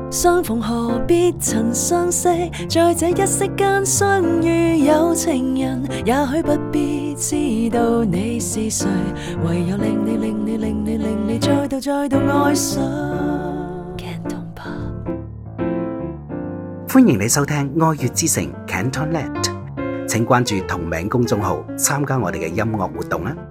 相逢何必曾相識，在這一息間相遇有情人，也許不必知道你是誰，唯有令你再度愛上。 歡迎你收聽愛粵之城 CantonLand， 請關注同名公眾號參加我哋嘅音樂活動啦。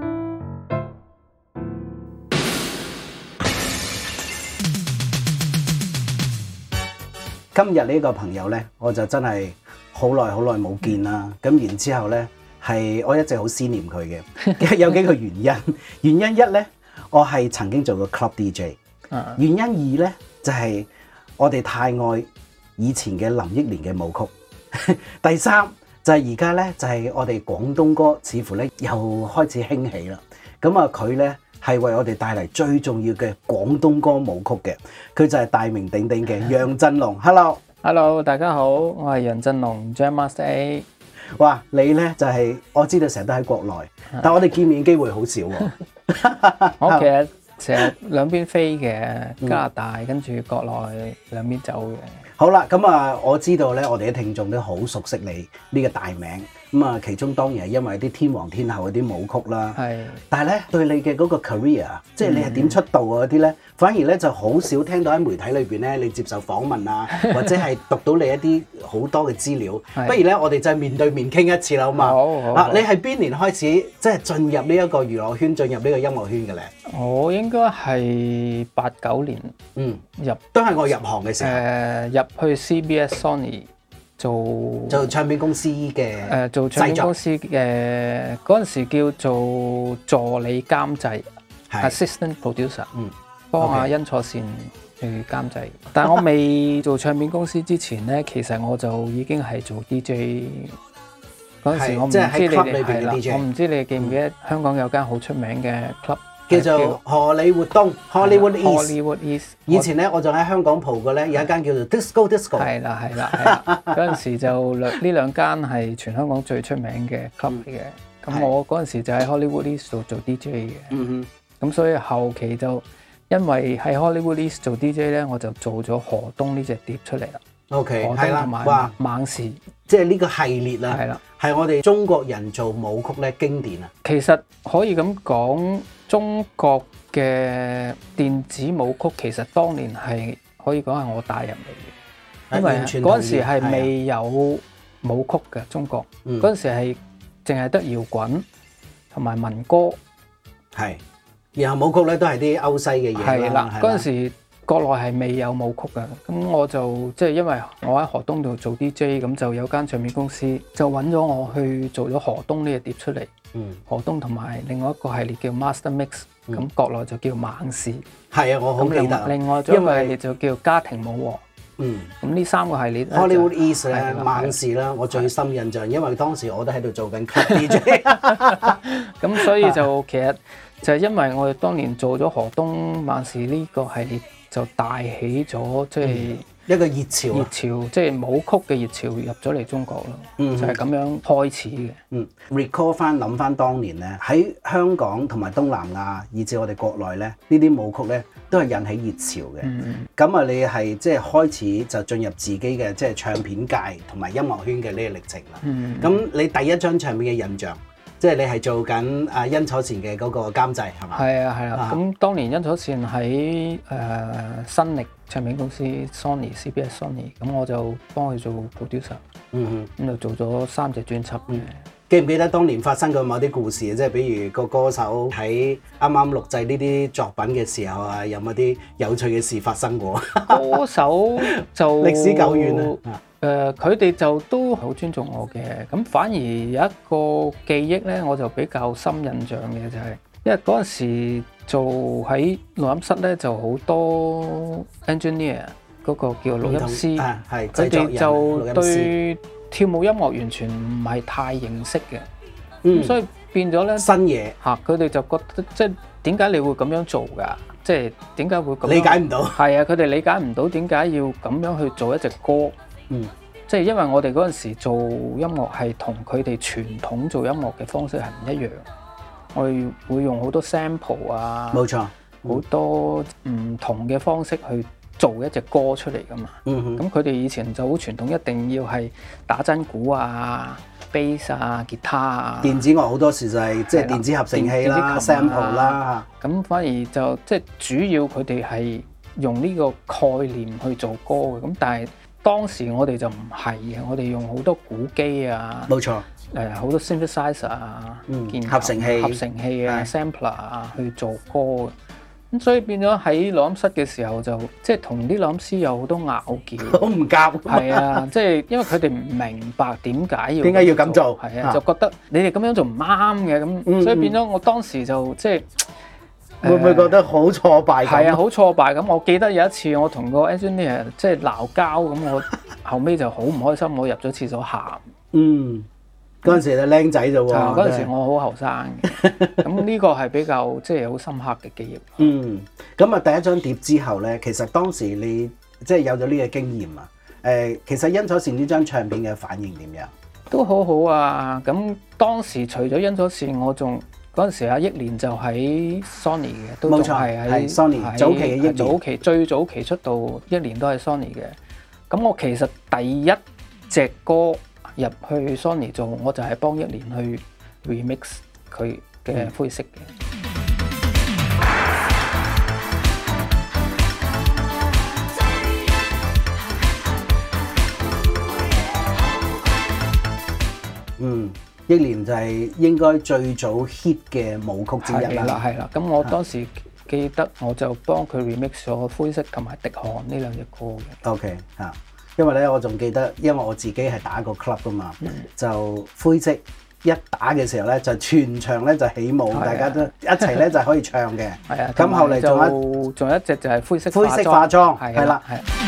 今日呢個朋友呢，我就真係好耐冇見啦。咁然之後呢，係我一直好思念佢嘅，有幾個原因。原因一呢，我係曾經做過 club DJ。原因二呢，就係我哋太愛以前嘅林憶蓮嘅舞曲。第三就係而家呢，就係我哋廣東歌似乎呢又開始興起啦。咁啊佢呢，係為我哋帶嚟最重要嘅廣東歌舞曲嘅，佢就係大名鼎鼎嘅楊振龍。Hello， 大家好，我係楊振龍 Jam Master A。 哇，你呢就係我知道成日都喺國內，但我哋見面機會好少喎。 我其實成日兩邊飛嘅，加拿大跟住國內兩邊走嘅。 好啦，咁啊，我知道咧，我哋啲聽眾都好熟悉你呢個大名，咁啊，其中當然係因為啲天王天后嗰啲舞曲啦。係。但係咧，對你嘅嗰個 career，即係你係點出道啊嗰啲咧，反而咧就好少聽到喺媒體裏邊咧，你接受訪問啊，或者係讀到你一啲好多嘅資料。不如咧，我哋就面對面傾一次啦，好嘛？好。啊，你係邊年開始即係進入呢一個娛樂圈、進入呢個音樂圈嘅咧？ 我應該係89年， 都係我入行嘅時候。 入去 CBS Sony 做唱片公司嘅做唱片公司嘅嗰陣時叫做助理監製 assistant producer， 幫阿殷楚善去監製。但係我未做唱片公司之前咧，其實我就已經係做 DJ。嗰陣時我唔知你哋係啦，我唔知你哋記唔記得香港有間好出名嘅 club。 叫做荷里活東 Hollywood East。 以前咧，我仲喺香港蒲過咧，有一間叫做 Disco。 係啦。嗰陣時就呢兩間係全香港最出名嘅 club 嚟嘅。咁我嗰陣時就喺 Hollywood East 度做 DJ 嘅。咁所以後期就因為喺 Hollywood East 做 DJ 咧，我就做咗河東呢隻碟出嚟啦。 OK， 係啦，同埋猛士， 即係呢個系列啦。係啦，係我哋中國人做舞曲咧經典啊。 其實可以咁講。中國嘅電子舞曲其實當年係可以講係我帶入嚟嘅，因為嗰陣時係未有舞曲嘅中國，嗰陣時係淨係得搖滾同埋民歌，係， 然後舞曲咧都係啲歐西嘅嘢啦。係啦， 嗰陣時國內係未有舞曲嘅，咁我就即係因為我喺河東度做 DJ， 咁就有間唱片公司就揾咗我去做咗河東呢個碟出嚟。河東同埋另外一個系列叫 Master Mix， 咁國內就叫猛士。係啊，我好記得。另外一個系列就叫家庭舞王。咁呢三個系列 Hollywood East 咧，猛士啦，我最深印象，因為當時我都喺度做緊 club DJ。 咁所以就其實就係因為我哋當年做咗河東猛士呢個系列，就帶起咗即係一個熱潮， 即係舞曲嘅熱潮入咗嚟中國咯，就係咁樣開始嘅。 recall 翻諗翻當年咧，喺香港同埋東南亞，以至我哋國內咧，呢啲舞曲咧都係引起熱潮嘅。咁啊，你係即係開始就進入自己嘅即係唱片界同埋音樂圈嘅呢個歷程啦。咁你第一張唱片嘅印象？即係你係做緊阿殷楚善嘅嗰個監製係嘛？ 係啊。咁當年殷楚善喺新力唱片公司 CBS Sony， 咁我就幫佢做 producer。咁就做咗3隻專輯。 記唔記得當年發生過某啲故事啊？即係比如個歌手喺啱啱錄製呢啲作品嘅時候啊，有冇啲有趣嘅事發生過？ 歌手就歷史久遠啊。 佢哋就都好尊重我嘅，咁反而有一個記憶咧，我就比較深印象嘅就係，因為嗰陣時做喺錄音室咧，就好多 engineer 嗰個叫錄音師，佢哋就對跳舞音樂完全唔係太認識嘅，咁所以變咗咧新嘢嚇，佢哋就覺得即係點解你會咁樣做㗎？即係點解會咁樣理解唔到？係啊，佢哋理解唔到點解要咁樣去做一隻歌。即係因為我哋嗰陣時做音樂係同佢哋傳統做音樂嘅方式係唔一樣，我哋會用好多 sample 啊， 冇錯， 好多唔同嘅方式去做一隻歌出嚟噶嘛。 嗯咁佢哋以前就好傳統，一定要係打真鼓啊、bass 啊、吉他啊。 電子樂好多時就係即係電子合成器啦、 電子琴 sample 啦。 咁反而就即係主要佢哋係用呢個概念去做歌嘅。咁但係當時我哋就唔係嘅，我哋用好多鼓機啊。 冇錯。 好多 synthesizer 啊、 合成器啊、sampler 啊去做歌嘅。咁所以變咗喺錄音室嘅時候就即係同啲錄音師有好多拗撬， 好唔夾。 係啊，即係因為佢哋唔明白點解要咁做， 係啊，就覺得你哋咁樣做唔啱嘅咁，所以變咗我當時就即係會唔會覺得好挫敗？ 係啊，好挫敗咁。我記得有一次我同個 engineer 即係鬧交咁，我後尾就好唔開心，我入咗廁所喊。 嗰陣時就僆仔啫喎， 嗰陣時我好後生嘅，咁呢個係比較即係好深刻嘅記憶。 咁啊第一張碟之後咧，其實當時你即係有咗呢個經驗啊。其實因楚善呢張唱片嘅反應點樣？ 都好好啊！咁當時除咗因楚善，我仲嗰陣時阿憶蓮就喺 Sony 嘅，都仲係喺 Sony 早期嘅憶蓮， 最早期出道憶蓮都係 Sony 嘅。咁我其實第一隻歌入去 Sony 做，我就係幫憶蓮去 remix 佢嘅灰色嘅。 憶蓮就係應該最早 hit 嘅舞曲之一啦。 係啦。咁我當時記得我就幫佢 remix 咗灰色同埋滴汗呢兩隻歌嘅。 OK 嚇。因為咧，我仲記得，因為我自己係打過 club 噶嘛，就灰色一打嘅時候咧，就全場咧就起舞，大家都一齊咧就可以唱嘅。 係啊， 咁後嚟仲有一隻就係灰色化妝，係啦。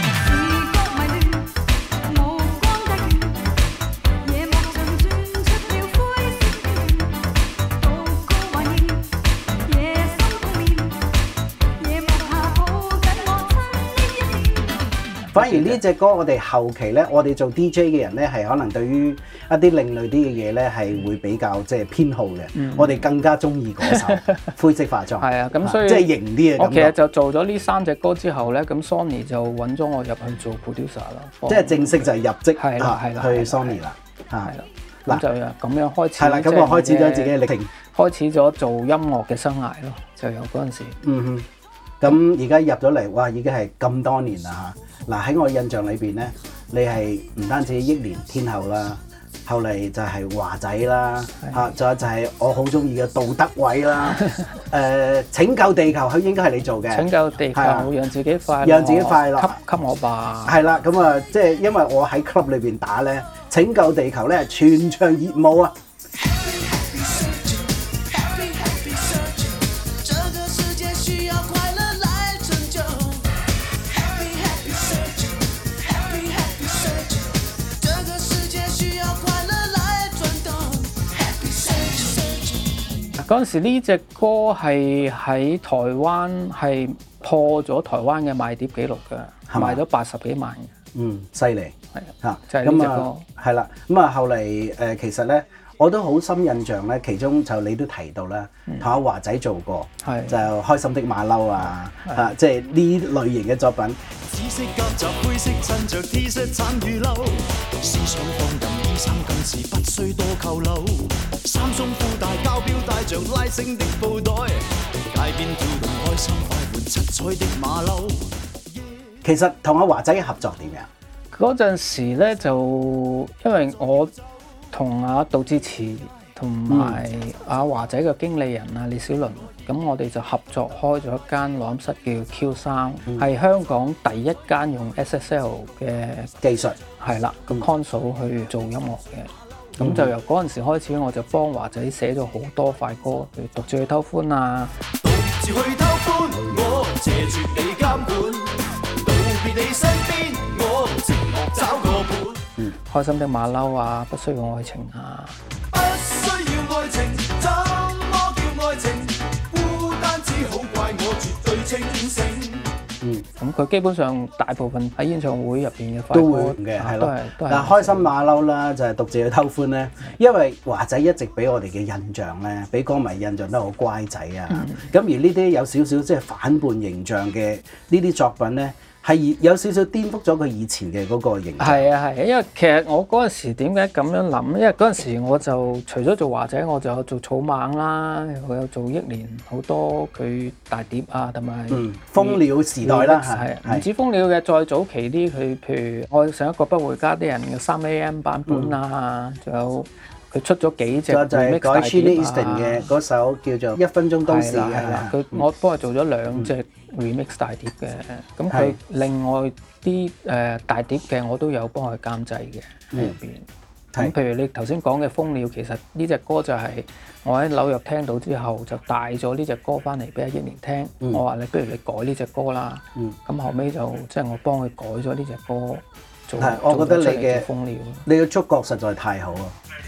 反而呢隻歌我哋後期咧，我哋做 DJ 嘅人咧，係可能對於一啲另類啲嘅嘢咧，係會比較即係偏好嘅。我哋更加中意嗰首灰色化妝。 係啊，咁所以即係型啲嘅感覺。 我其實就做咗呢3隻歌之後咧，咁 Sony 就揾咗我入去做 producer 啦。 即係正式就係入職去 Sony 啦。 係啦，咁就咁樣開始。 係啦，咁我開始咗自己嘅歷程， 開始咗做音樂嘅生涯咯，就由嗰陣時。 咁而家入咗嚟，哇！已經係咁多年啦嚇。嗱喺我印象裏邊咧，你係唔單止憶蓮天后啦，後嚟就係華仔啦，嚇，仲有就係我好中意嘅杜德偉啦。拯救地球佢應該係你做嘅。拯救地球，讓自己快樂， 讓自己快樂， 給我吧。 係啦，咁啊，即係因為我喺 club 裏邊打咧，拯救地球咧，全場熱舞啊！ 嗰陣時呢隻歌係喺台灣係破咗台灣嘅賣碟紀錄㗎，賣咗80幾萬嘅。 犀利。 係啊，就係呢隻歌。 係啦，咁啊後嚟其實咧我都好深印象咧，其中就你都提到啦，同阿華仔做過，就開心的馬騮啊，即係呢類型嘅作品。紫色夾雜灰色襯着 T 恤橙與褸，思想放任衣衫更是不需多扣褸，三鬆褲帶膠錶帶着拉繩的布袋，街邊跳動開心快活七彩的馬騮。其實同阿華仔嘅合作點樣？ 嗰陣時咧就因為我同阿杜自持同埋阿華仔嘅經理人啊李小倫，咁我哋就合作開咗一間錄音室叫 Q3，係香港第一間用 SSL 嘅技術， 係啦，咁 console 去做音樂嘅。咁就由嗰陣時開始，我就幫華仔寫咗好多快歌，譬如獨自去偷歡啊。獨自去偷歡，我謝絕你監管，道別你身邊，我寂寞找個伴。開心的馬騮啊，不需要愛情啊。不需要愛情，怎麼叫愛情？孤單只好怪我絕對清醒。咁佢基本上大部分喺演唱會入邊嘅快歌都會嘅，係咯。 但係開心馬騮啦，就係獨自去偷歡咧。因為華仔一直俾我哋嘅印象咧，俾歌迷印象都好乖仔啊。咁而呢啲有少少即係反叛形象嘅呢啲作品咧， 係有少少顛覆咗佢以前嘅嗰個形象。 係啊係啊，因為其實我嗰陣時點解咁樣諗？因為嗰陣時我就除咗做華仔，我就有做草蜢啦，我有做憶蓮好多佢大碟啊，同埋蜂鳥時代啦， 係唔止蜂鳥嘅，再早期啲佢譬如愛上一個不回家啲人嘅3AM 版本啊，仲有佢出咗幾隻 remix 大碟啊。 改 Sheena Easton 嘅嗰首叫做《一分鐘都市》 係啦，我幫佢做咗2隻 remix 大碟嘅，咁佢另外啲大碟嘅我都有幫佢監製嘅喺入邊。咁譬如你頭先講嘅蜂鳥，其實呢隻歌就係我喺紐約聽到之後，就帶咗呢隻歌翻嚟俾阿憶蓮聽。我話你不如你改呢隻歌啦。咁後尾就即係我幫佢改咗呢隻歌做。係， 我覺得你嘅觸覺實在太好啊！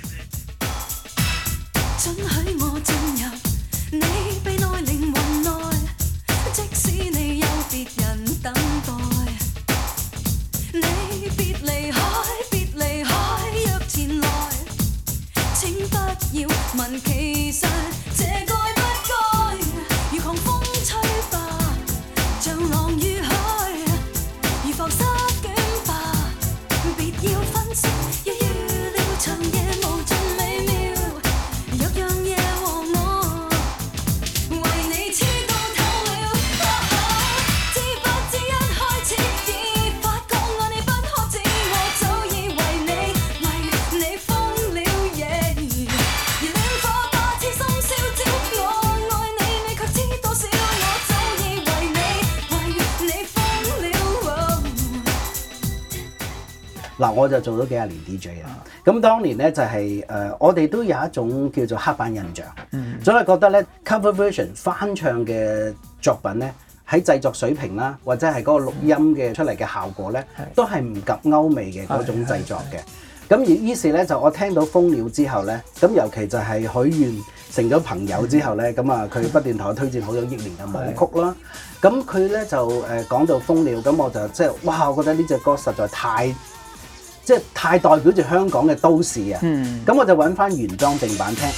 准許我進入你臂內靈魂內，即使你有別人等待，你別離開，若前來，請不要問，其實這該不該，如狂風吹吧，像浪與海，如浮沙捲吧，別要分析，要預料長夜無盡美妙。 嗱，我就做咗幾廿年 DJ 啦。咁當年咧就係我哋都有一種叫做刻板印象，總係覺得咧 cover version 翻唱嘅作品咧喺製作水平啦，或者係嗰個錄音嘅出嚟嘅效果咧，都係唔及歐美嘅嗰種製作嘅。咁而於是咧就我聽到蜂鳥之後咧，咁尤其就係許願成咗朋友之後咧，咁啊佢不斷同我推薦好多憶蓮嘅舞曲啦。咁佢咧就講到蜂鳥，咁我就即係哇，我覺得呢隻歌實在太代表住香港嘅都市啊！咁我就揾翻原裝正版聽。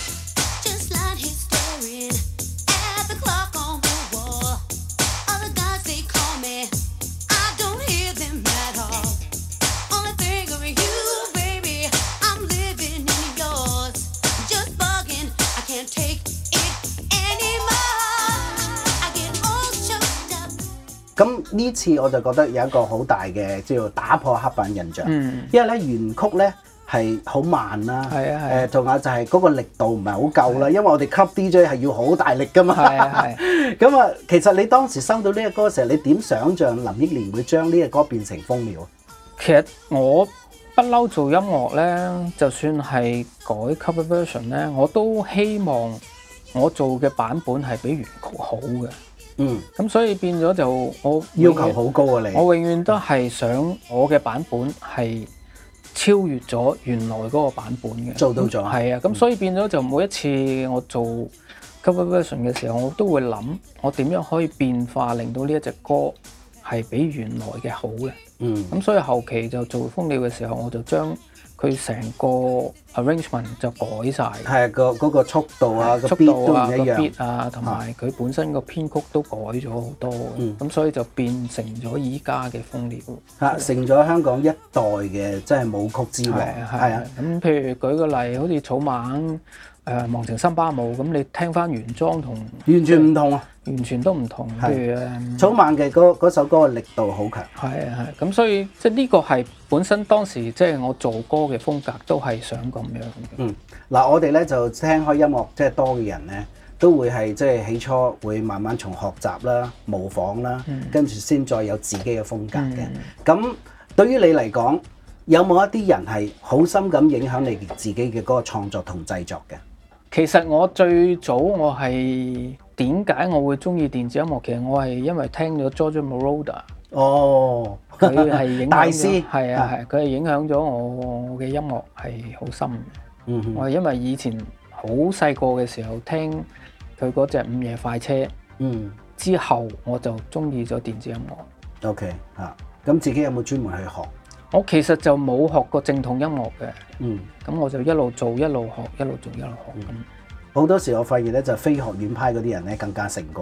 咁呢次我就覺得有一個好大嘅叫做打破刻板印象，因為咧原曲咧係好慢啦，仲有就係嗰個力度唔係好夠啦，因為我哋 club DJ 係要好大力噶嘛。咁啊，其實你當時收到呢隻歌嘅時候，你點想像林憶蓮會將呢隻歌變成蜂鳥？ 其實我不嬲做音樂咧，就算係改 cover version 咧，我都希望我做嘅版本係比原曲好嘅。咁所以變咗就我要求好高啊！ 我永遠都係想我嘅版本係超越咗原來嗰個版本嘅， 做到咗。 係啊，咁所以變咗就每一次我做 cover version 嘅時候，我都會諗我點樣可以變化，令到呢一隻歌係比原來嘅好嘅。咁所以後期就做蜂鳥嘅時候，我就將佢成個 arrangement 就改晒， 係嗰個速度啊，個 beat 都唔一樣， 個 beat 啊，同埋佢本身個編曲都改咗好多，咁所以就變成咗依家嘅蜂鳥， 成咗香港一代嘅即係舞曲之王。係啊， 咁譬如舉個例，好似草蜢忘情森巴舞，咁你聽翻原裝同完全唔同啊， 完全都唔同。譬如草蜢嘅嗰首歌嘅力度好強。 係，咁所以即係呢個係本身當時即係我做歌嘅風格都係想咁樣嘅。 嗱，我哋咧就聽開音樂即係多嘅人咧，都會係即係起初會慢慢從學習啦、模仿啦，跟住先再有自己嘅風格嘅。咁對於你嚟講，有冇一啲人係好深咁影響你自己嘅嗰個創作同製作嘅？ 其實我最早我係點解我會中意電子音樂？其實我係因為聽咗 Giorgio Moroder。 哦， 佢係影響大師， 係佢係影響咗我嘅音樂係好深嘅。我係因為以前好細個嘅時候聽佢嗰隻午夜快車，之後我就中意咗電子音樂。 OK 咁自己有冇專門去學？ 我其實就冇學過正統音樂嘅，咁我就一路做一路學，一路做一路學咁。 好多時我發現咧，就非學院派嗰啲人咧更加成功。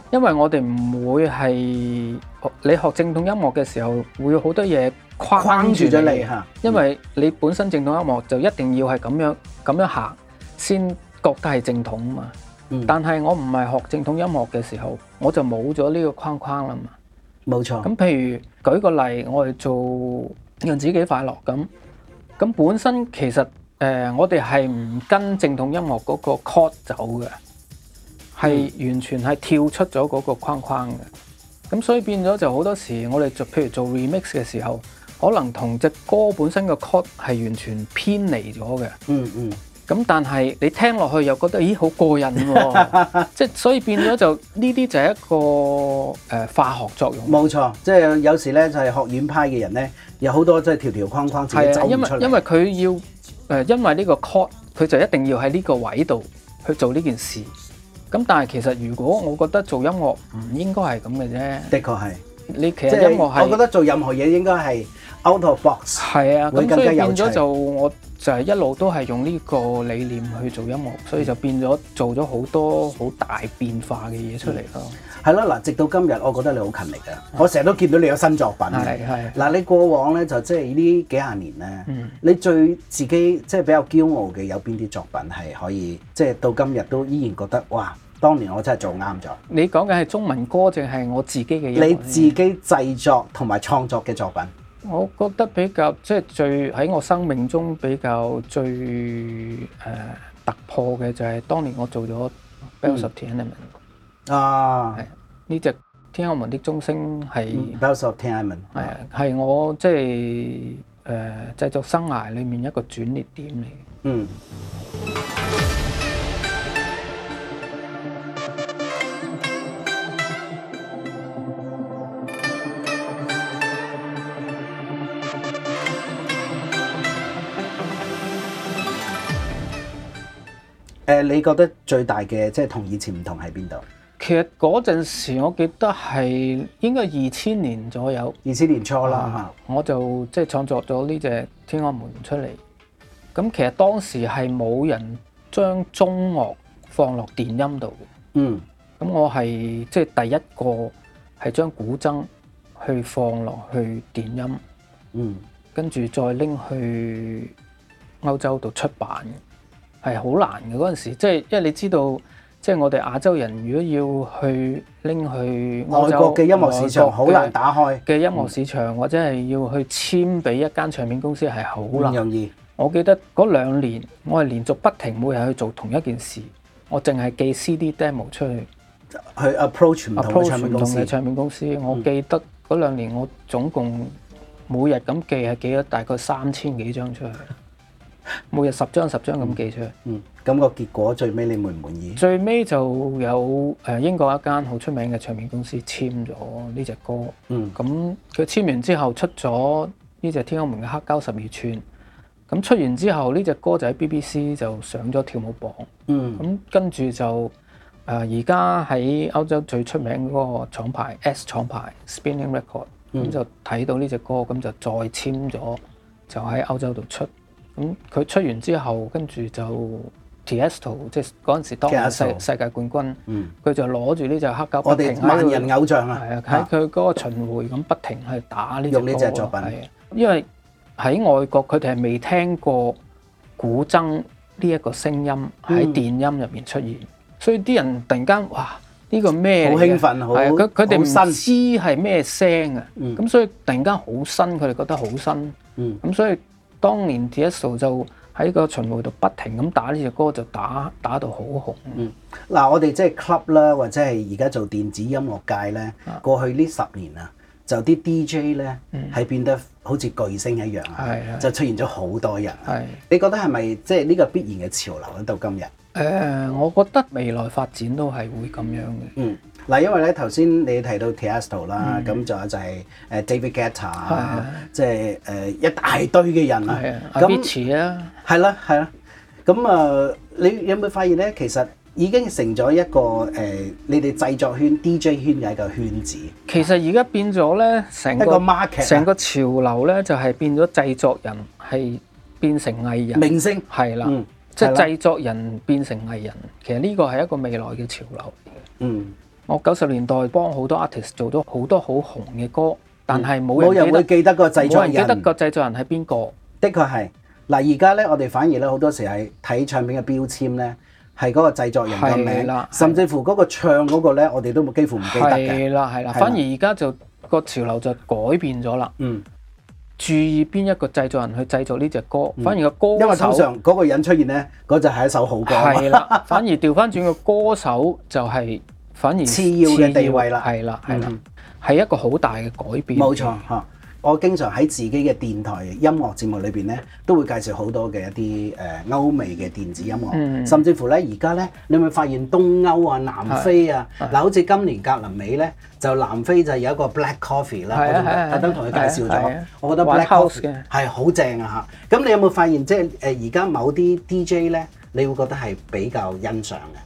因為我哋唔會係你學正統音樂嘅時候，會有好多嘢框住咗你你嚇， 因為你本身正統音樂就一定要係咁樣行先覺得係正統嘛。但係我唔係學正統音樂嘅時候，我就冇咗呢個框框啦嘛。 冇錯。 咁譬如舉個例，我哋做讓自己快樂咁本身其實我哋係唔跟正統音樂嗰個 chord 走嘅，係完全係跳出咗嗰個框框嘅。咁所以變咗就好多時我哋譬如做 remix 嘅時候，可能同隻歌本身嘅 chord 係完全偏離咗嘅。咁但係你聽落去又覺得咦好過癮喎，即係所以變咗就呢啲就係一個化學作用。 冇錯，即係有時咧就係學院派嘅人咧，有好多即係條條框框自己走唔出嚟。 因為佢要因為呢個 chord 佢就一定要喺呢個位度去做呢件事。咁但係其實如果我覺得做音樂唔應該係咁嘅啫。 的確係， 你其實音樂係， 我覺得做任何嘢應該係 out of box。 係啊，咁所以變咗就我就係一路都係用呢個理念去做音樂，所以就變咗做咗好多好大變化嘅嘢出嚟咯。 係咯，嗱，直到今日，我覺得你好勤力嘅。我成日都見到你有新作品嘅。係嗱，你過往咧就即係呢幾廿年咧，你最自己即係比較驕傲嘅有邊啲作品係可以即係到今日都依然覺得哇，當年我真係做啱咗。你講嘅係中文歌定係我自己嘅音樂？ 你自己製作同埋創作嘅作品。 我覺得比較即係最喺我生命中比較最突破嘅就係當年我做咗 Bells of Tiananmen 啊， 呢隻天安門的鐘聲係 Bells of Tiananmen 係我即係製作生涯裡面一個轉捩點嚟嘅。 你覺得最大嘅即係同以前唔同喺邊度？ 其實嗰陣時我記得係應該2000年左右 ，2000年初啦， 我就即係創作咗呢隻天安門出嚟。咁其實當時係冇人將中樂放落電音度嘅。咁我係即係第一個係將古箏去放落去電音。跟住再拎去歐洲度出版嘅。係好難嘅嗰陣時，即係因為你知道，即係我哋亞洲人如果要去拎去外國嘅音樂市場，好難打開嘅音樂市場，或者係要去簽俾一間唱片公司係好難。 唔容易。 我記得嗰2年，我係連續不停每日去做同一件事，我淨係寄 CD demo 出去 approach 唔同嘅唱片公司。我記得嗰2年，我總共每日咁寄係寄咗大概3000幾張出去。每日10張咁寄出去。 咁個結果最尾你滿唔滿意？ 最尾就有英國一間好出名嘅唱片公司簽咗呢隻歌。咁佢簽完之後出咗呢隻天安門嘅黑膠12寸。咁出完之後呢隻歌就喺 BBC 就上咗跳舞榜。咁跟住就而家喺歐洲最出名嗰個廠牌 S 廠牌 Spinning Record，咁就睇到呢隻歌，咁就再簽咗，就喺歐洲度出。咁佢出完之後，跟住就 Tiesto 即係嗰陣時當年世界冠軍，佢就攞住呢隻黑膠， 我哋萬人偶像啊， 喺佢嗰個巡迴咁不停去打呢隻歌。 用呢隻作品， 因為喺外國佢哋係未聽過古箏呢一個聲音喺電音入面出現，所以啲人突然間哇呢個咩？ 好興奮，好佢哋唔知係咩聲啊，咁所以突然間好新，佢哋覺得好新，咁所以。當年 Tiesto 就喺個巡迴度不停咁打呢隻歌，就打到好紅。 嗱，我哋即係 club 啦，或者係而家做電子音樂界咧，過去呢10年啊，就啲 DJ 咧係變得好似巨星一樣啊，就出現咗好多人。你覺得係咪即係呢個必然嘅潮流咧？到今日， 我覺得未來發展都係會咁樣嘅。 嗱，因為咧頭先你提到 Tiesto 啦，咁仲有就係David Guetta 即係一大堆嘅人啊。 Avicii 啊， 係啦。咁你有冇發現咧？其實已經成咗一個你哋製作圈 DJ 圈嘅一個圈子。 其實而家變咗咧，成個 market， 成個潮流咧就係變咗製作人係變成藝人明星， 係啦，即係製作人變成藝人。其實呢個係一個未來嘅潮流嚟嘅。 我90年代幫好多 artist 做咗好多好紅嘅歌，但係冇人會記得個製作人， 冇人記得個製作人係邊個。 的確係嗱，而家咧我哋反而咧好多時係睇唱片嘅標籤咧，係嗰個製作人嘅名，甚至乎嗰個唱嗰個咧，我哋都幾乎唔記得嘅。 係啦，反而而家就個潮流就改變咗啦。注意邊一個製作人去製作呢隻歌，反而個歌手， 因為通常嗰個人出現咧，嗰就係一首好歌。 係啦，反而調翻轉個歌手就係反而次要嘅地位啦。 係啦，係一個好大嘅改變。 冇錯嚇。我經常喺自己嘅電台音樂節目裏邊咧，都會介紹好多嘅一啲歐美嘅電子音樂，甚至乎咧而家咧，你會發現東歐啊、南非啊，嗱好似今年格林美咧，就南非就有一個 Black Coffee 啦，我特登同佢介紹咗，我覺得 Black Coffee 係好正啊嚇。咁你有冇發現即係而家某啲 DJ 咧，你會覺得係比較欣賞嘅？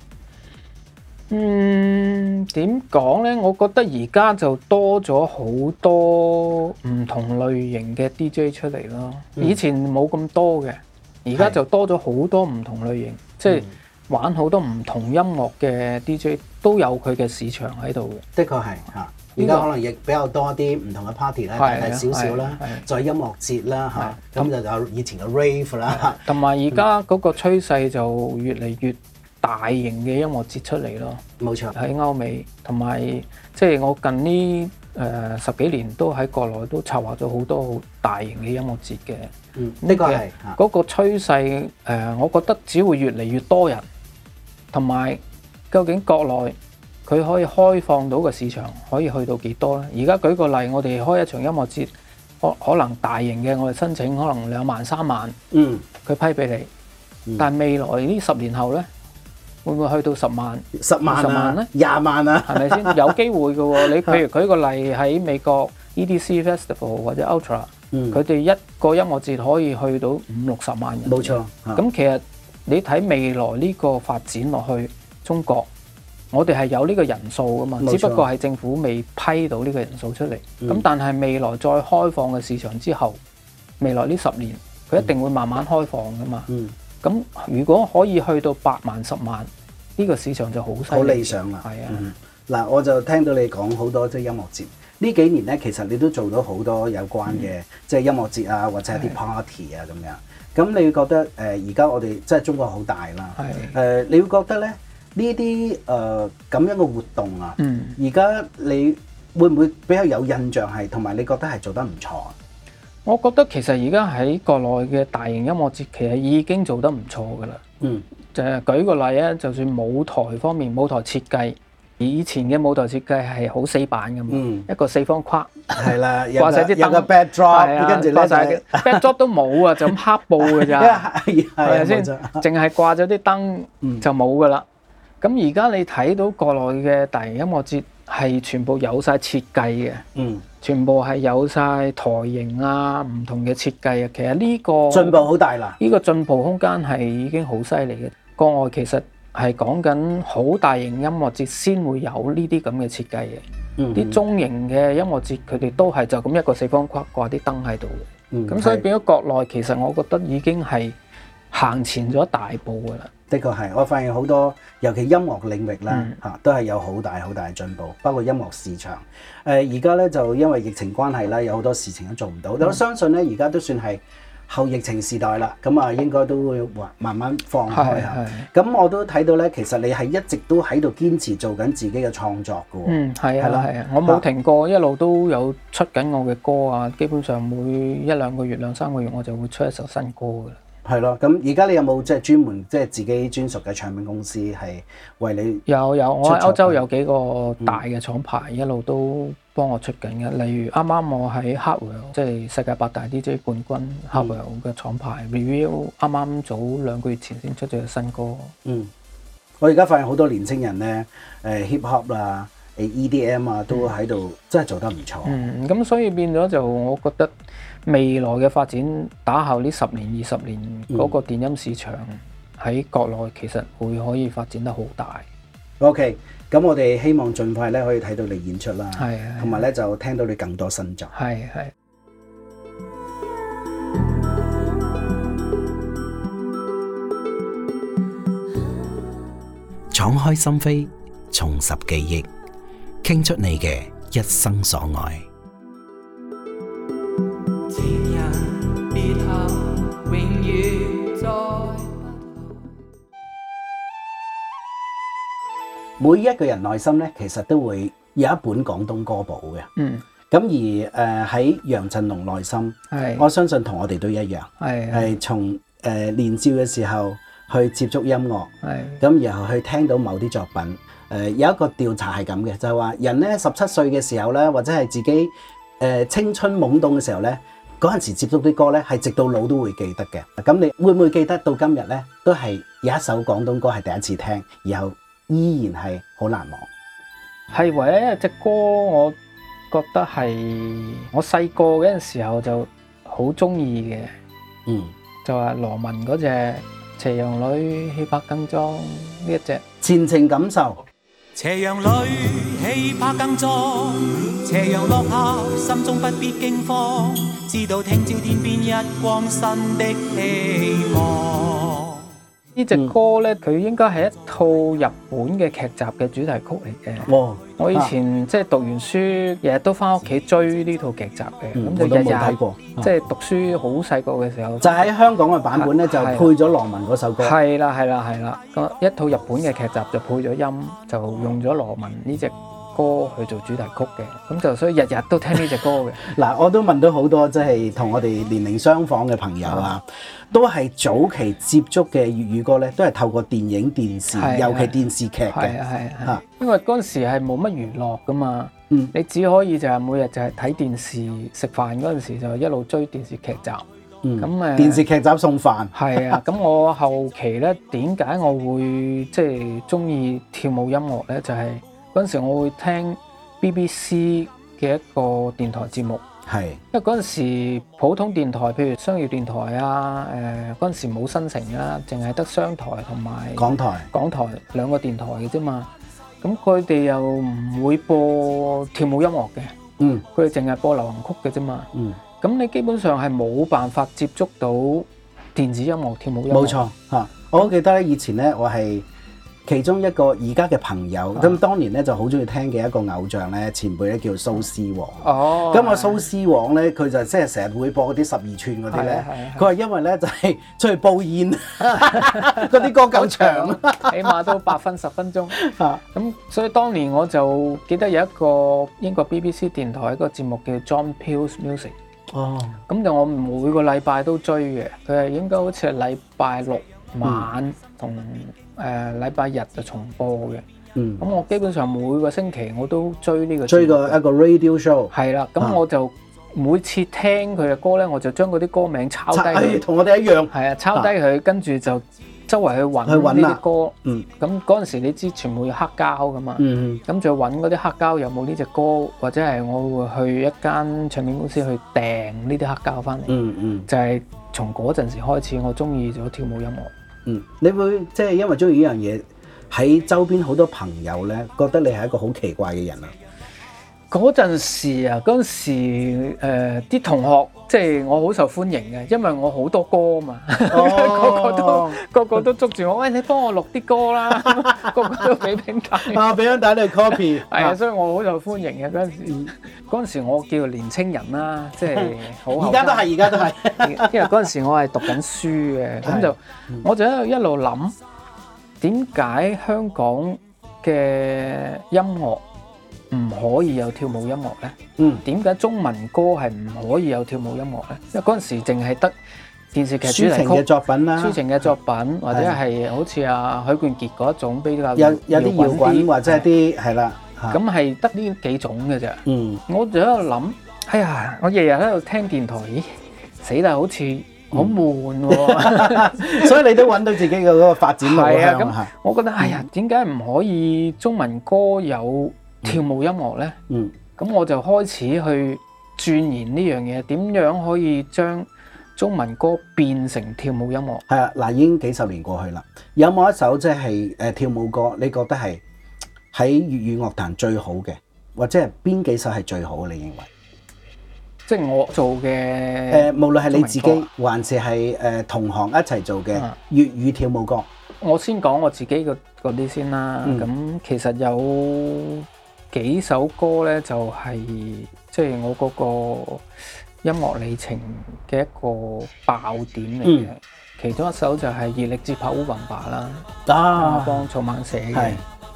點講呢？我覺得而家就多咗好多唔同類型嘅 DJ 出嚟咯。以前冇咁多嘅，而家就多咗好多唔同類型，即係玩好多唔同音樂嘅 DJ 都有佢嘅市場喺度嘅。 的確係嚇，而家可能亦比較多啲唔同嘅 party 啦，大大小小啦，再音樂節啦嚇，咁就有以前嘅 rave 啦， 同埋而家嗰個趨勢就越嚟越大型嘅音樂節出嚟咯， 冇錯。喺歐美同埋即係我近呢10幾年都喺國內都策劃咗好多好大型嘅音樂節嘅。 呢個係嗰個趨勢我覺得只會越嚟越多人，同埋究竟國內佢可以開放到個市場可以去到幾多呢？而家舉個例，我哋開一場音樂節，可能大型嘅我哋申請可能2萬3萬，佢批俾你，但係未來呢10年後呢？會唔會去到10萬、 10萬咧、 20萬啊？ 係咪先？有機會嘅喎。你譬如舉個例喺美國 EDC Festival 或者 Ultra，佢哋一個音樂節可以去到50-60萬人。 冇錯。 咁其實你睇未來呢個發展落去，中國我哋係有呢個人數㗎嘛，只不過係政府未批到呢個人數出嚟。咁但係未來再開放嘅市場之後，未來呢10年佢一定會慢慢開放㗎嘛。咁如果可以去到8萬、10萬，呢個市場就好犀利， 好理想啦。 係啊， 嗱，我就聽到你講好多即係音樂節。呢幾年咧，其實你都做到好多有關嘅即係音樂節啊，或者一啲 party 啊咁樣。咁你會覺得而家我哋即係中國好大啦。你會覺得咧呢啲咁樣嘅活動啊，而家你會唔會比較有印象係，同埋你覺得係做得唔錯啊？ 我覺得其實而家喺國內嘅大型音樂節其實已經做得唔錯㗎啦。就係舉個例啊，就算舞台方面，舞台設計，以前嘅舞台設計係好死板㗎嘛，一個4方框， 係啦， 掛晒啲燈， 有個 backdrop，跟住咧 backdrop 都冇啊，就咁黑布㗎咋，係咪先？淨係掛咗啲燈就冇㗎啦。咁而家你睇到國內嘅大型音樂節係全部有晒設計嘅，全部係有晒台型啊，唔同嘅設計啊。其實呢個進步好大啦， 呢個進步空間係已經好犀利嘅。國外其實係講緊好大型音樂節先會有呢啲咁嘅設計嘅，啲中型嘅音樂節佢哋都係就咁一個4方框掛啲燈喺度嘅。咁所以變咗國內其實我覺得已經係行前咗大步㗎啦。 的確係，我發現好多，尤其音樂領域啦都係有好大好大嘅進步，包括音樂市場。而家咧就因為疫情關係啦，有好多事情都做唔到。我相信咧，而家都算係後疫情時代啦，咁啊應該都會慢慢放開下。咁我都睇到咧，其實你係一直都喺度堅持做緊自己嘅創作㗎喎。 係啊，我冇停過，一路都有出緊我嘅歌啊。基本上每1-2個月、2-3個月我就會出一首新歌㗎啦。 係咯，咁而家你有冇即係專門即係自己專屬嘅唱片公司係為你？ 有，我喺歐洲有幾個大嘅廠牌一路都幫我出緊嘅，例如啱啱我喺 Hardwell 即係世界8大 DJ 冠軍 Hardwell 嘅廠牌 Review 啱啱早2個月前先出咗新歌。 我而家發現好多年青人咧，hip hop 啦、EDM 啊都喺度真係做得唔錯。 咁所以變咗就我覺得未來嘅發展打後呢10年、20年嗰個電音市場喺國內其實會可以發展得好大。 OK，咁我哋希望盡快咧可以睇到你演出啦，同埋咧就聽到你更多新作。 係。 敞開心扉，重拾記憶， 傾出你嘅一生所愛。 情人別後，永遠再每一個人內心咧，其實都會有一本廣東歌簿嘅。 嗯， 咁而喺楊振龍內心， 係我相信同我哋都一樣，係從年少嘅時候去接觸音樂，咁然後去聽到某啲作品。有一個調查係咁嘅，就係話人咧17歲嘅時候咧，或者係自己青春懵懂嘅時候咧，嗰陣時接觸啲歌咧，係直到老都會記得嘅。咁你會唔會記得到今日咧，都係有一首廣東歌係第一次聽，然後依然係好難忘？ 係唯一一隻歌，我覺得係我細個嗰陣時候就好中意嘅，就係羅文嗰隻《斜陽裏氣魄更壯》呢一隻。 前程感受。 斜陽裏氣魄更壯，斜陽落下心中不必驚慌，知道聽朝天邊一光新的希望。 呢隻歌咧，佢應該係一套日本嘅劇集嘅主題曲嚟嘅。我以前即係讀完書，日日都翻屋企追呢套劇集嘅，咁就日日睇過。即係讀書好細個嘅時候， 就喺香港嘅版本咧，就配咗羅文嗰首歌。 係啦，一套日本嘅劇集就配咗音，就用咗羅文呢隻歌去做主題曲嘅，咁就所以日日都聽呢隻歌嘅。 嗱，我都問到好多即係同我哋年齡相仿嘅朋友啊，都係早期接觸嘅粵語歌咧，都係透過電影、電視，尤其電視劇嘅。 係，因為嗰陣時係冇乜娛樂噶嘛，你只可以就係每日就係睇電視，食飯嗰陣時就一路追電視劇集。咁電視劇集送飯。 係啊，咁我後期咧點解我會即係中意跳舞音樂咧？就係嗰陣時我會聽 BBC 嘅一個電台節目，因為嗰陣時普通電台，譬如商業電台啊，嗰陣時冇新城啦，淨係得商台同埋港台兩個電台嘅啫嘛。咁佢哋又唔會播跳舞音樂嘅，佢哋淨係播流行曲嘅啫嘛。咁你基本上係冇辦法接觸到電子音樂、跳舞音樂。冇錯嚇，我好記得咧，以前咧我係其中一個而家嘅朋友，咁當年咧就好中意聽嘅一個偶像咧，前輩咧叫蘇絲黃。咁啊蘇絲黃咧，佢就即係成日會播嗰啲12寸嗰啲咧。佢話因為咧就係出去煲煙，嗰啲歌夠長， 起碼都8分10分鐘。咁所以當年我就記得有一個英國 BBC 電台一個節目叫 John Peel Music。咁就我每個禮拜都追嘅，佢係應該好似係禮拜6晚同禮拜日就重播嘅。咁我基本上每個星期我都追呢個追過一個 radio show。 係啦，咁我就每次聽佢嘅歌咧，我就將嗰啲歌名抄低。 同我哋一樣。 係啊，抄低佢，跟住就周圍去揾呢啲歌。咁嗰陣時你知全部要黑膠噶嘛。咁就揾嗰啲黑膠有冇呢隻歌，或者係我會去一間唱片公司去訂呢啲黑膠翻嚟。就係從嗰陣時開始，我中意咗跳舞音樂。 你會即係因為中意呢樣嘢，喺周邊好多朋友咧，覺得你係一個好奇怪嘅人啊！ 嗰陣時啲同學即係我好受歡迎嘅，因為我好多歌嘛，個個都捉住我，喂，你幫我錄啲歌啦，個個都俾餅帶， 俾餅帶你 copy， 係啊，所以我好受歡迎嘅嗰陣時。嗰陣時我叫年青人啦，即係好後生。而家都係，因為嗰陣時我係讀緊書嘅，咁就我就一路諗點解香港嘅音樂唔可以有跳舞音樂咧？點解中文歌係唔可以有跳舞音樂咧？因為嗰陣時淨係得電視劇主題曲抒情嘅作品啦， 抒情嘅作品或者係好似阿許冠傑嗰一種比較有啲搖滾或者係啲係啦， 咁係得呢幾種嘅啫。我就喺度諗，哎呀，我日日喺度聽電台，咦，死啦，好似好悶喎， 所以你都揾到自己嘅嗰個發展路向。 咁我覺得，哎呀，點解唔可以中文歌有跳舞音樂咧？咁我就開始去鑽研呢樣嘢，點樣可以將中文歌變成跳舞音樂？ 係啊，嗱，已經幾十年過去啦。有冇一首即係跳舞歌，你覺得係喺粵語樂壇最好嘅，或者係邊幾首係最好嘅？你認為？ 即係我做嘅無論係你自己，還是係同行一齊做嘅粵語跳舞歌。 我先講我自己嗰啲先啦。咁其實有幾首歌咧，就係即係我嗰個音樂里程嘅一個爆點嚟嘅。其中一首就係《熱力接拍烏雲吧》啦，我幫草蜢寫嘅。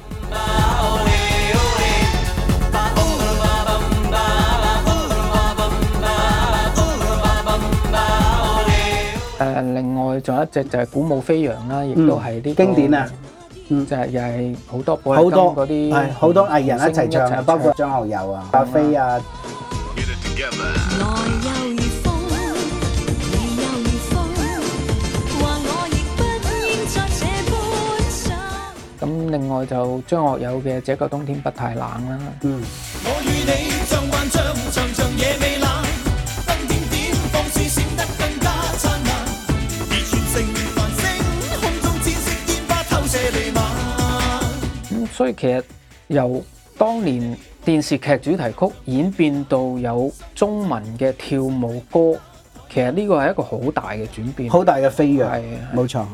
另外仲有一隻就係《鼓舞飛揚》啦，亦都係呢個經典啊！ 就係又係好多寶好多嗰啲係好多藝人一齊唱嘅，包括張學友啊、阿飛啊。 咁另外就張學友嘅《這個冬天不太冷》啦。 我與你像幻象，長長夜未冷，燈點點放肆閃得更加燦爛，而全城繁星，空中濺色煙花透射彌漫。 所以其實由當年電視劇主題曲演變到有中文嘅跳舞歌，其實呢個係一個好大嘅轉變， 好大嘅飛躍， 係冇錯。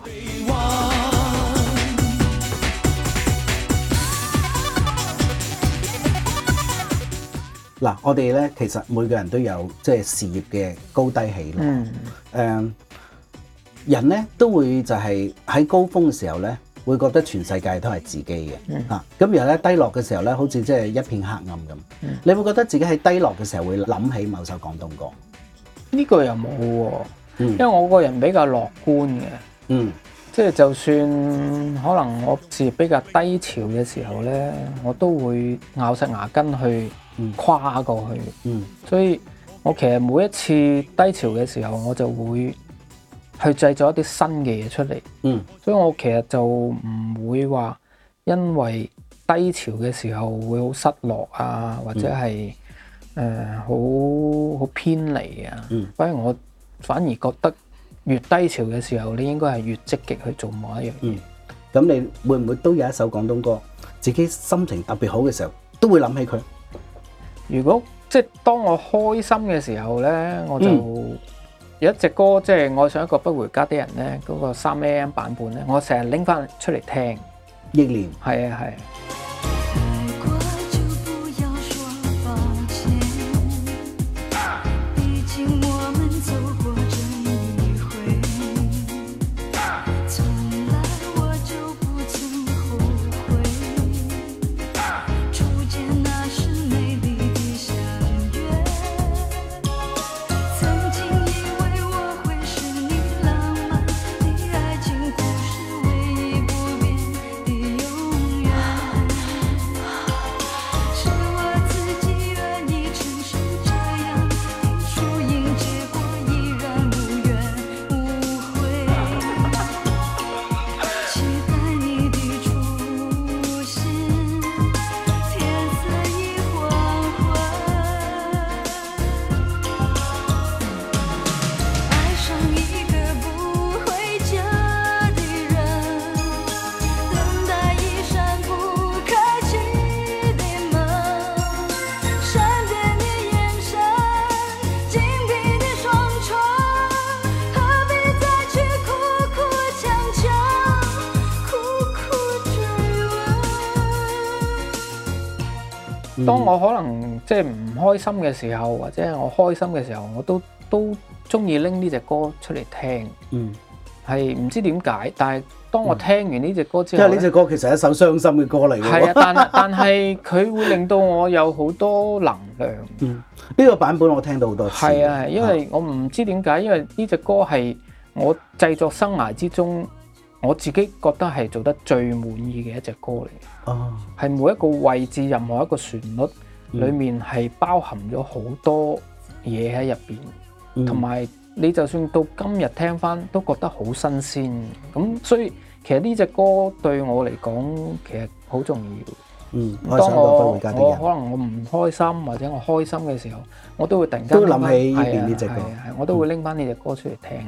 嗱，我哋咧其實每個人都有即係事業嘅高低起落。人咧都會就係喺高峰嘅時候咧，會覺得全世界都係自己嘅。咁然後咧低落嘅時候咧，好似即係一片黑暗咁。你會覺得自己喺低落嘅時候會諗起某首廣東歌？ 呢個又冇喎，因為我個人比較樂觀嘅。即係就算可能我事業比較低潮嘅時候咧，我都會咬實牙根去跨過去。所以我其實每一次低潮嘅時候，我就會去製作一啲新嘅嘢出嚟。所以我其實就唔會話因為低潮嘅時候會好失落啊，或者係好偏離啊。反而覺得越低潮嘅時候，你應該係越積極去做某一樣嘢。 咁你會唔會都有一首廣東歌，自己心情特別好嘅時候，都會諗起佢？ 如果即係當我開心嘅時候咧，我就有一隻歌，即係愛上一個不回家的人咧，嗰個3AM 版本咧，我成日拎翻出嚟聽。 憶念。 係啊係。當我可能即係唔開心嘅時候，或者係我開心嘅時候，我都中意拎呢隻歌出嚟聽。係唔知點解，但係當我聽完呢隻歌之後， 因為呢隻歌其實係一首傷心嘅歌嚟嘅。 係啊，但係佢會令到我有好多能量。 呢個版本我聽到好多次。 係啊，因為我唔知點解，因為呢隻歌係我製作生涯之中，我自己覺得係做得最滿意嘅一隻歌嚟。係每一個位置，任何一個旋律裏面係包含咗好多嘢喺入邊，同埋你就算到今日聽翻都覺得好新鮮。咁所以其實呢隻歌對我嚟講其實好重要。當我可能我唔開心或者我開心嘅時候，我都會突然間都諗起呢邊呢隻歌， 我都會拎翻呢隻歌出嚟聽。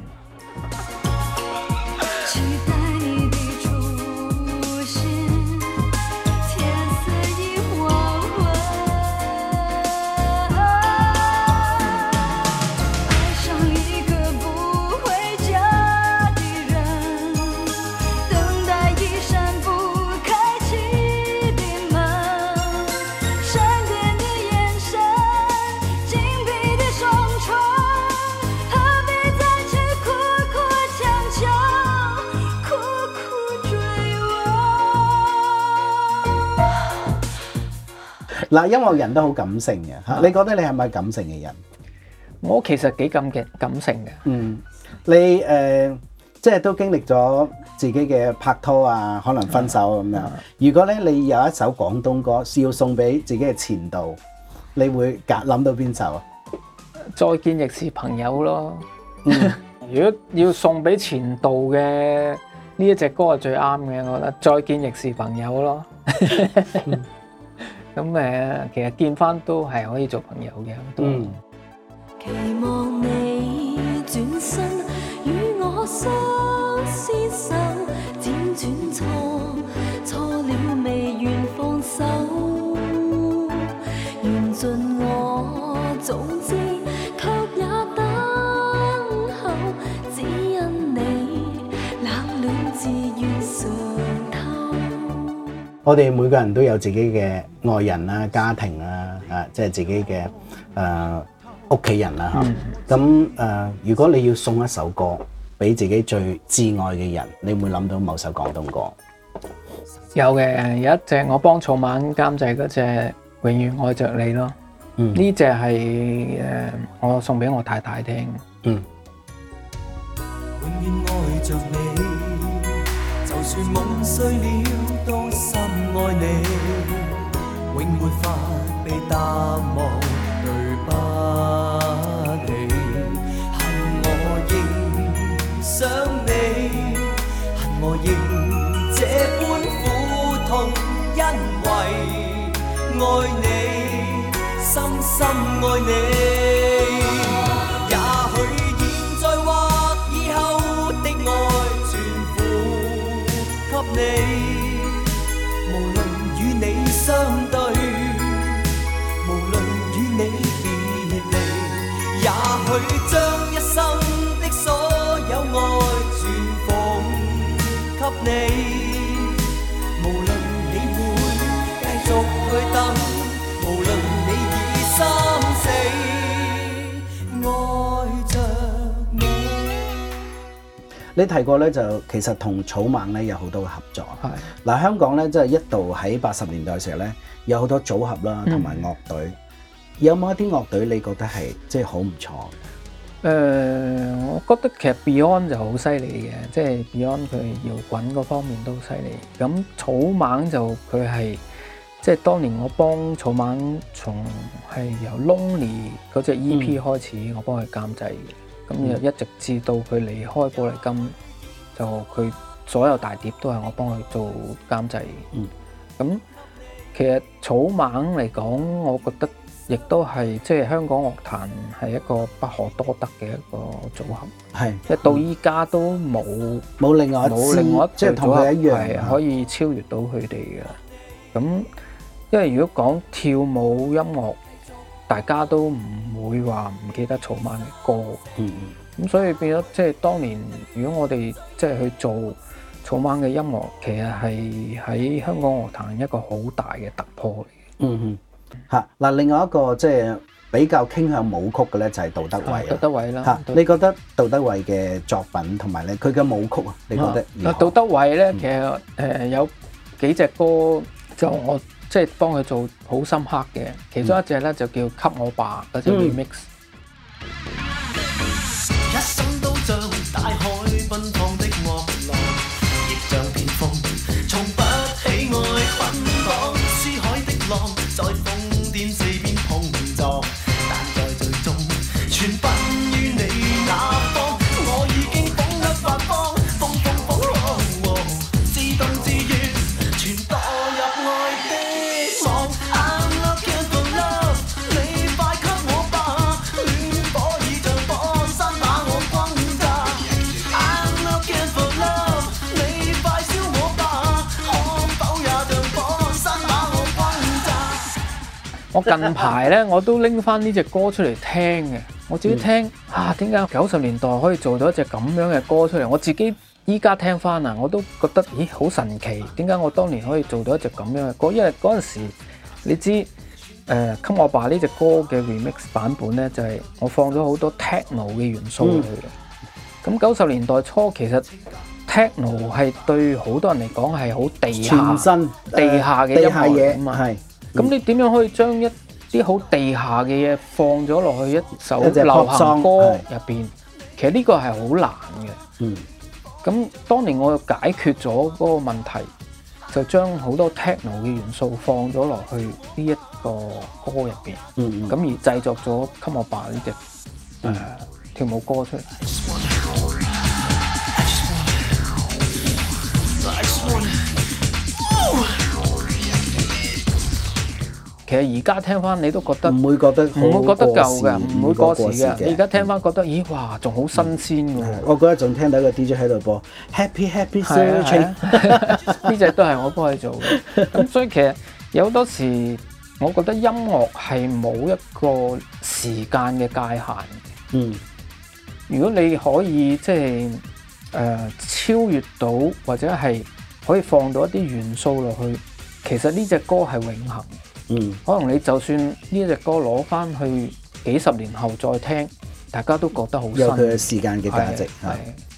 嗱，音樂人都好感性嘅嚇，你覺得你係咪感性嘅人？ 我其實幾感性嘅。 嗯，你即係都經歷咗自己嘅拍拖啊，可能分手咁樣。如果咧你有一首廣東歌要送俾自己嘅前度，你會諗到邊首啊？ 再見亦是朋友咯。如果要送俾前度嘅呢一隻歌係最啱嘅，我覺得再見亦是朋友咯。咁其實見翻都係可以做朋友嘅。都期望你轉身與我相廝守，輾轉錯了未願放手，緣盡我早知，卻也等候，只因你冷暖自願嘗透。 我哋每個人都有自己嘅愛人啦、家庭啦，即係自己嘅屋企人啦嚇。咁如果你要送一首歌俾自己最摯愛嘅人，你會諗到某首廣東歌？ 有嘅，有一隻我幫草蜢監製嗰隻《永遠愛着你》咯。呢隻係我送俾我太太聽。 永遠愛着你，就算夢碎了都深愛你，永沒法被淡忘，對不起，恨我仍想你，恨我仍這般苦痛，因為愛你，深深愛你。也許現在或以後的愛全付給你，無論與你相對，無論與你別離，也許將一生的所有愛全奉給你，無論你會繼續去等，無論你已心死，愛着你。 你提過咧，就其實同草蜢咧有好多嘅合作。 係嗱，香港咧即係一度喺80年代嘅時候咧，有好多組合啦，同埋樂隊。有冇一啲樂隊你覺得係即係好唔錯？ 我覺得其實 Beyond 就好犀利嘅，即係 Beyond 佢搖滾嗰方面都犀利。咁草蜢就佢係即係當年我幫草蜢從係由 Lonely 嗰隻 EP 開始，我幫佢監製嘅。咁一直至到佢離開寶麗金，就佢所有大碟都係我幫佢做監製嘅。咁其實草蜢嚟講，我覺得亦都係即係香港樂壇係一個不可多得嘅一個組合， 係即係到依家都冇另外一即係同佢一樣係可以超越到佢哋嘅。咁因為如果講跳舞音樂，大家都唔會話唔記得草蜢嘅歌。咁所以變咗即係當年，如果我哋即係去做草蜢嘅音樂，其實係喺香港樂壇一個好大嘅突破嚟嘅。 嗱，另外一個即係比較傾向舞曲嘅咧，就係杜德偉。 杜德偉啦， 你覺得杜德偉嘅作品同埋咧佢嘅舞曲啊，你覺得如何？ 杜德偉咧，其實有幾隻歌就我即係幫佢做好深刻嘅，其中一隻咧就叫《給我吧》嗰隻 remix。 一生都像大海奔放的惡浪，亦像片風，從不喜愛捆綁。珠海的浪在瘋癲四邊碰撞，但在最終全奔於你那方。我已經風一發光，風浪，自動自願，全墮入愛的網。I'm looking for love，你快給我吧，戀火已像火山把我轟炸。I'm looking for love，你快燒我吧，可否也像火山把我轟炸。 我近排咧我都拎翻呢隻歌出嚟聽嘅，我自己聽點解90年代可以做到一隻咁樣嘅歌出嚟？我自己依家聽翻啊，我都覺得咦好神奇，點解我當年可以做到一隻咁樣嘅歌？因為嗰陣時你知給我吧呢隻歌嘅 remix 版本咧，就係我放咗好多 techno 嘅元素落去嘅。咁90年代初其實 techno 係對好多人嚟講係好地下全新地下嘅音樂嚟㗎嘛。 咁你點樣可以將一啲好地下嘅嘢放咗落去一首一隻流 pop 行 song， 歌係入邊？其實呢個係好難嘅。 嗯咁當年我就解決咗嗰個問題，就將好多 techno 嘅元素放咗落去呢一個歌入邊， 嗯咁而製作咗《Come On Ba》呢隻跳舞歌出嚟。其實而家聽翻你都覺得唔會覺得好唔會覺得舊過時嘅，唔會過時嘅。 嘅你而家聽翻覺得，咦哇，仲好新鮮嘅喎。 我嗰日仲聽到一個 DJ 喺度播 Happy Happy 係啊 Searching， 呢隻都係我幫佢做嘅。咁所以其實有好多時，我覺得音樂係冇一個時間嘅界限。 嗯如果你可以即係超越到，或者係可以放到一啲元素落去，其實呢隻歌係永恆。 嗯可能你就算呢隻歌攞翻去幾十年後再聽，大家都覺得好新。 有佢嘅時間嘅價值係。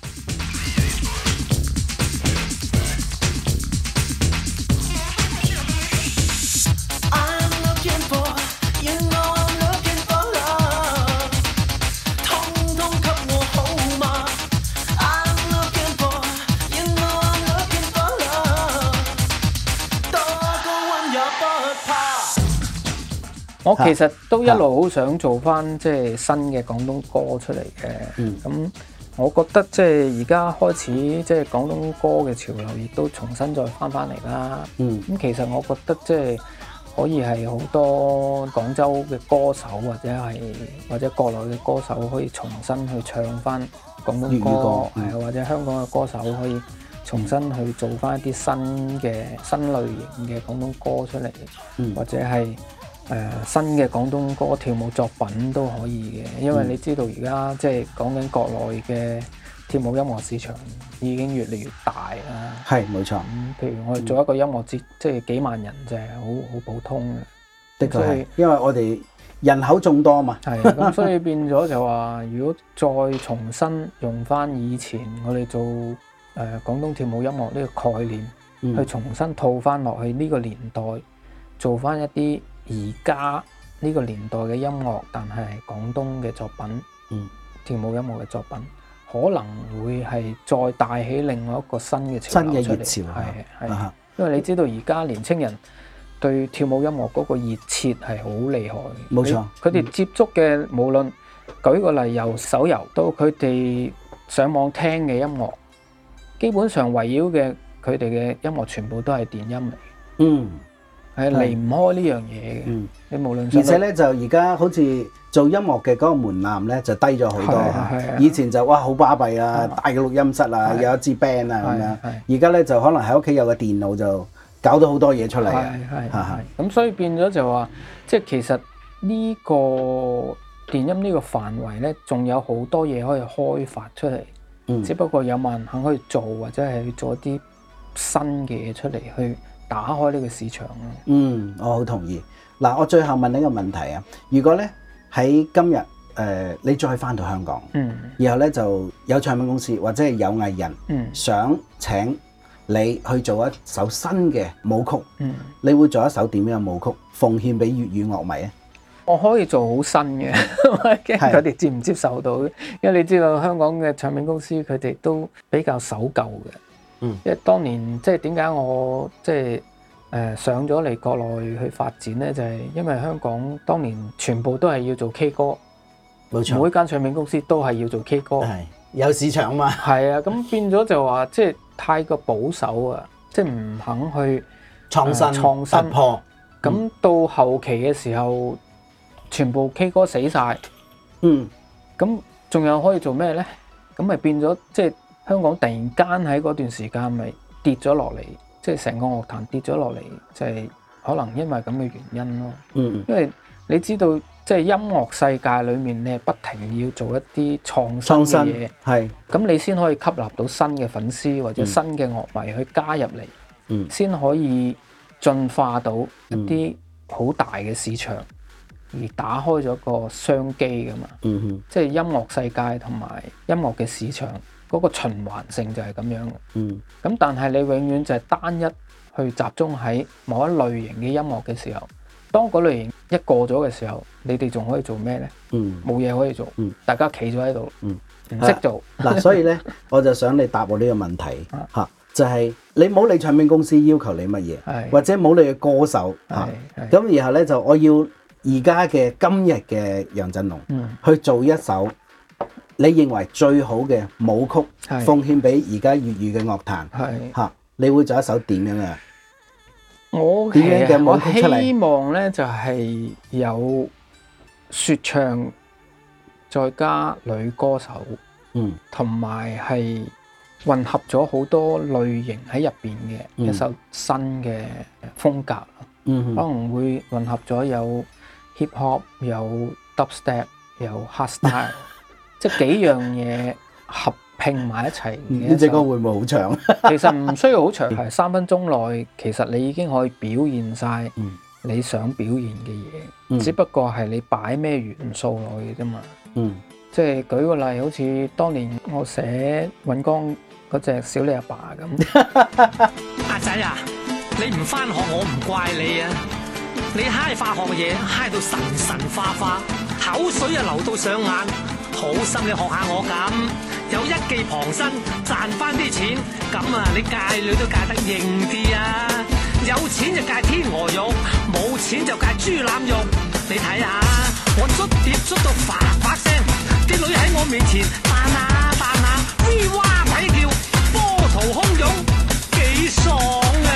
I'm looking for, you know I'm looking for love，通通給我好嗎 ？I'm looking for, you know I'm looking for love，多高溫也不怕。 我其實都一路好想做翻即係新嘅廣東歌出嚟嘅。咁我覺得即係而家開始即係廣東歌嘅潮流，亦都重新再翻嚟啦。咁其實我覺得即係可以係好多廣州嘅歌手或者國內嘅歌手可以重新去唱翻廣東粵語歌， 歌或者香港嘅歌手可以重新去做翻一啲新類型嘅廣東歌出嚟，或者係新嘅廣東歌跳舞作品都可以嘅。因為你知道而家即係講緊國內嘅跳舞音樂市場已經越嚟越大啦。 係冇錯， 譬如我哋做一個音樂節，即係幾萬人就係好普通嘅。 的確係所以， 因為我哋人口眾多嘛。 係咁，所以變咗就話，如果再重新用翻以前我哋做廣東跳舞音樂呢個概念，去重新套翻落去呢個年代，做翻一啲而家呢個年代嘅音樂，但係廣東嘅作品，跳舞音樂嘅作品，可能會係再帶起另外一個新嘅潮流出嚟。 新嘅熱潮係，因為你知道而家年青人對跳舞音樂嗰個熱切係好厲害嘅。 冇錯， 佢哋接觸嘅無論舉個例，由手遊到佢哋上網聽嘅音樂，基本上圍繞嘅佢哋嘅音樂全部都係電音嚟。係離唔開呢樣嘢嘅。你無論而且咧就而家好似做音樂嘅嗰個門檻咧就低咗好多嚇。以前就哇好巴閉啊，大嘅錄音室啊，有一支 band 啊咁樣。而家咧就可能喺屋企有個電腦就搞到好多嘢出嚟啊。 咁所以變咗就話，即係其實呢個電音呢個範圍咧，仲有好多嘢可以開發出嚟。只不過有冇人肯去做，或者係去做一啲新嘅嘢出嚟去打開呢個市場咯。 我好同意。嗱，我最後問你一個問題啊，如果咧喺今日你再翻到香港，然後咧就有唱片公司或者係有藝人想請你去做一首新嘅舞曲，你會做一首點樣嘅舞曲奉獻俾粵語樂迷啊？ 我可以做好新嘅，驚佢哋接唔接受到，因為你知道香港嘅唱片公司佢哋都比較守舊嘅。因為當年即係點解我即係上咗嚟國內去發展咧，就係因為香港當年全部都係要做 K 歌， 冇錯， 每間唱片公司都係要做 K 歌， 係有市場嘛。 係啊，咁變咗就話即係太過保守啊，即係唔肯去創新突破。 咁到後期嘅時候，全部 K 歌死晒，咁仲有可以做咩咧？咁咪變咗即係香港突然間喺嗰段時間咪跌咗落嚟，即係成個樂壇跌咗落嚟，就係可能因為咁嘅原因咯。因為你知道，即係音樂世界裏面，你係不停要做一啲創新嘅嘢，係咁你先可以吸納到新嘅粉絲或者新嘅樂迷去加入嚟，先可以進化到一啲好大嘅市場，而打開咗個商機噶嘛。即係音樂世界同埋音樂嘅市場嗰個循環性就係咁樣嘅。咁但係你永遠就係單一去集中喺某一類型嘅音樂嘅時候， 當嗰類型一過咗嘅時候，你哋仲可以做咩咧？冇嘢可以做，大家企咗喺度，唔識做。 嗱，所以咧，我就想你答我呢個問題嚇，就係你冇你唱片公司要求你乜嘢，或者冇你嘅歌手嚇，咁然後咧就我要而家嘅今日嘅楊振龍去做一首你認為最好嘅舞曲，奉獻俾而家粵語嘅樂壇嚇，你會做一首點樣嘅？ 我希望咧就係有説唱，再加女歌手，同埋係混合咗好多類型喺入邊嘅一首新嘅風格，可能會混合咗有 hip hop、有 dubstep、有 hardstyle， 即係幾樣嘢合拼埋一齊。 呢隻歌會唔會好長？ 其實唔需要好長，係3分鐘內，其實你已經可以表現晒你想表現嘅嘢，只不過係你擺咩元素落去啫嘛。即係舉個例，好似當年我寫尹光嗰隻小李阿爸咁。 阿仔啊，你唔返學我唔怪你啊！你嗨化學嘢嗨到神神化化，口水啊流到上眼，好心你學下我咁，有一技傍身賺翻啲錢，咁啊你戒女都戒得型啲啊！有錢就戒天鵝肉，冇錢就戒豬腩肉。你睇下我捽碟捽到發發聲，啲女喺我面前彈下彈下，威哇鬼叫，波濤洶湧，幾爽啊！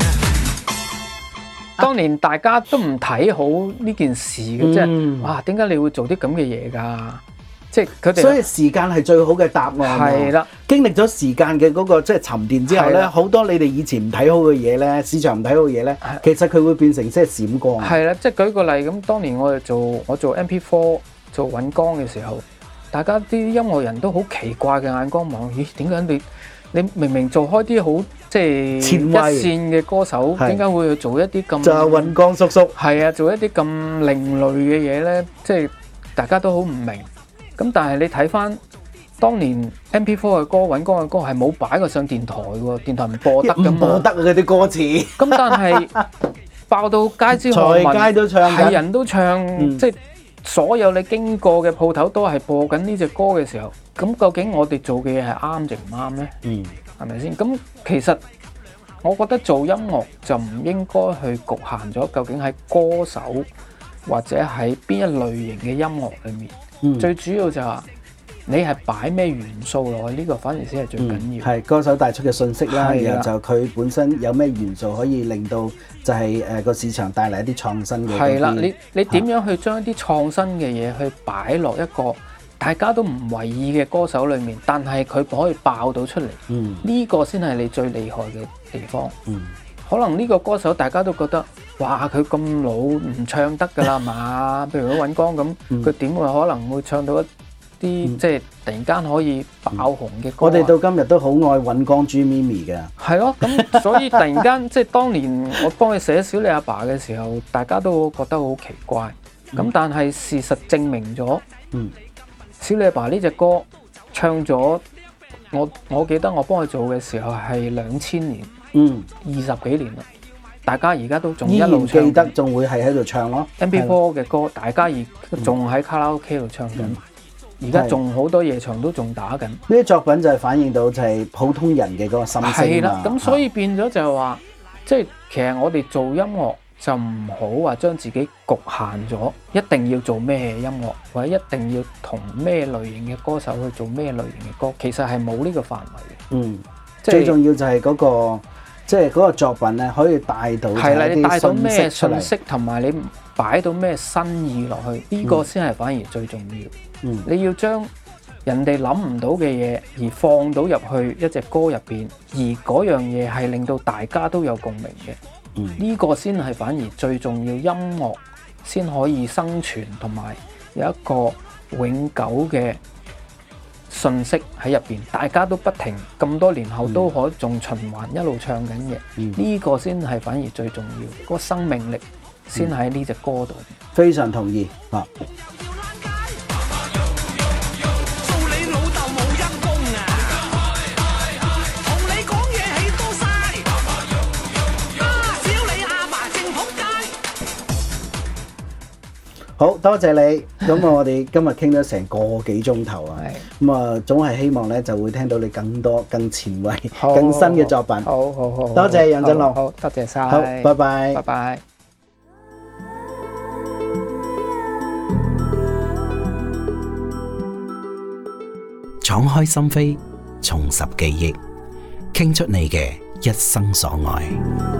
當年大家都唔睇好呢件事嘅，即係哇，點解你會做啲咁嘅嘢㗎？即係佢哋， 所以時間係最好嘅答案。係啦，經歷咗時間嘅嗰個即係沉澱之後咧，好多你哋以前唔睇好嘅嘢咧，市場唔睇好嘅嘢咧，其實佢會變成即係閃光。 係啦，即係舉個例咁，當年我做 MP4 做尹光嘅時候，大家啲音樂人都好奇怪嘅眼光望，咦？點解你明明做開啲好即係一線嘅歌手，點解會去做一啲咁就係尹光叔叔係啊，做一啲咁另類嘅嘢咧？即係大家都好唔明。咁但係你睇翻當年 MP4 嘅歌，尹光嘅歌係冇擺過上電台喎，電台唔播得㗎嘛，唔播得嗰啲歌詞。 咁但係爆到街知巷聞， 在街都唱， 係人都唱，即係所有你經過嘅鋪頭都係播緊呢隻歌嘅時候，咁究竟我哋做嘅嘢係啱定唔啱咧？係咪先？咁其實我覺得做音樂就唔應該去局限咗，究竟喺歌手或者喺邊一類型嘅音樂裏面。最主要就係話你係擺咩元素落去，呢個反而先係最緊要。 係歌手帶出嘅信息啦，然後就佢本身有咩元素可以令到就係個市場帶嚟一啲創新嘅。 係啦，你點樣去將一啲創新嘅嘢去擺落一個大家都唔為意嘅歌手裏面，但係佢可以爆到出嚟。呢個先係你最厲害嘅地方。可能呢個歌手大家都覺得，哇！佢咁老唔唱得㗎啦嘛，譬如嗰尹光咁，佢點會可能會唱到一啲即係突然間可以爆紅嘅歌？ 我哋到今日都好愛尹光朱咪咪嘅。係咯，咁所以突然間即係當年我幫佢寫小李阿爸嘅時候，大家都覺得好奇怪。咁但係事實證明咗，小李阿爸呢隻歌唱咗，我記得我幫佢做嘅時候係2000年。20幾年啦，大家而家都仲一路唱， 記得仲會係喺度唱咯。 MP4 嘅歌，大家而仲喺卡拉 OK 度唱緊，而家仲好多夜場都仲打緊。呢啲作品就係反映到就係普通人嘅嗰個心聲。 係啦，咁所以變咗就係話，即係其實我哋做音樂就唔好話將自己局限咗，一定要做咩音樂，或者一定要同咩類型嘅歌手去做咩類型嘅歌，其實係冇呢個範圍嘅。 最重要就係嗰個。即係嗰個作品咧，可以帶到係啦，你帶到咩信息，同埋你擺到咩新意落去，呢個先係反而最重要。你要將人哋諗唔到嘅嘢，而放到入去一隻歌入邊，而嗰樣嘢係令到大家都有共鳴嘅。呢個先係反而最重要，音樂先可以生存，同埋有一個永久嘅信息喺入邊，大家都不停咁多年後都可仲循環一路唱緊嘅，呢個先係反而最重要，個生命力先喺呢隻歌度。 非常同意啊！ 好多謝你。咁我哋今日傾咗成個幾鐘頭啊。咁啊，總係希望咧就會聽到你更多、更前衛、更新嘅作品。 好， 多謝楊振龍。 好，多謝晒。 好，拜拜。 拜拜。 敞開心扉，重拾記憶，傾出你嘅一生所愛。